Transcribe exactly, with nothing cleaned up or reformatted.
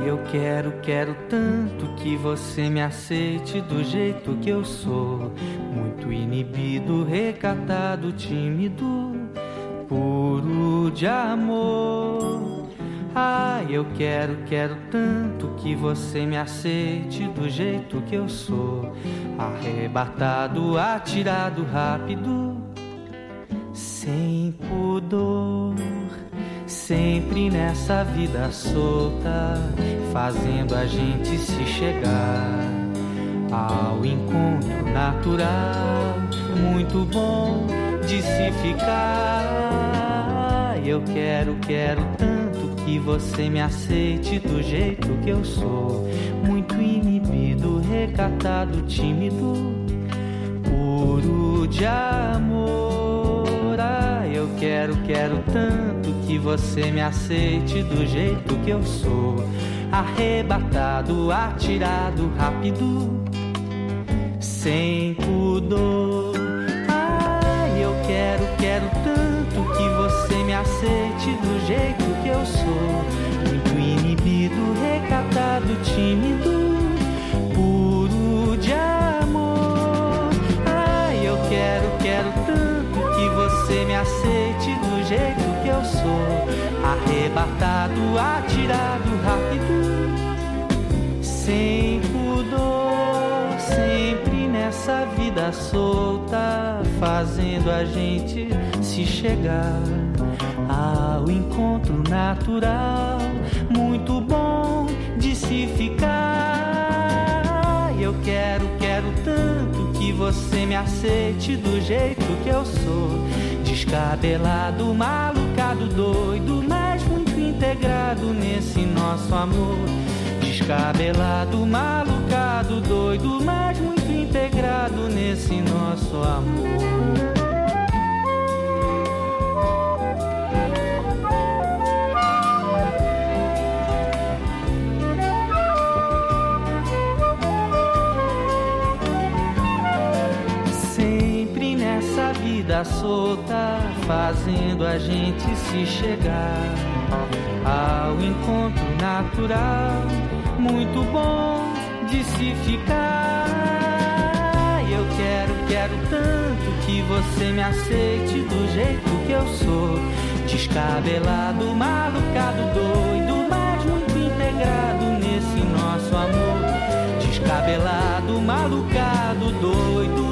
eu quero, quero tanto que você me aceite do jeito que eu sou. Muito inibido, recatado, tímido, puro de amor. Ah, eu quero, quero tanto que você me aceite do jeito que eu sou. Arrebatado, atirado, rápido, sem pudor. Sempre nessa vida solta, fazendo a gente se chegar ao encontro natural, muito bom de se ficar. Eu quero, quero tanto que você me aceite do jeito que eu sou. Muito inibido, recatado, tímido, puro de amor. Ah, eu quero, quero tanto que você me aceite do jeito que eu sou. Arrebatado, atirado, rápido, sem pudor. Ah, eu quero, quero tanto que você me aceite do jeito que eu sou. Muito inibido, recatado, tímido, puro de amor. Ah, eu quero, quero tanto que você me aceite do jeito que eu sou. Arrebatado, atirado, rápido, sem pudor. Sempre nessa vida solta, fazendo a gente se chegar ao encontro natural, muito bom de se ficar. Eu quero, quero tanto que você me aceite do jeito que eu sou. Descabelado, malucado, doido, mas muito integrado nesse nosso amor. Descabelado, malucado, doido, mas muito integrado nesse nosso amor. Vida solta, fazendo a gente se chegar ao encontro natural, muito bom de se ficar. Eu quero, quero tanto que você me aceite do jeito que eu sou. Descabelado, malucado, doido, mas muito integrado nesse nosso amor. Descabelado, malucado, doido,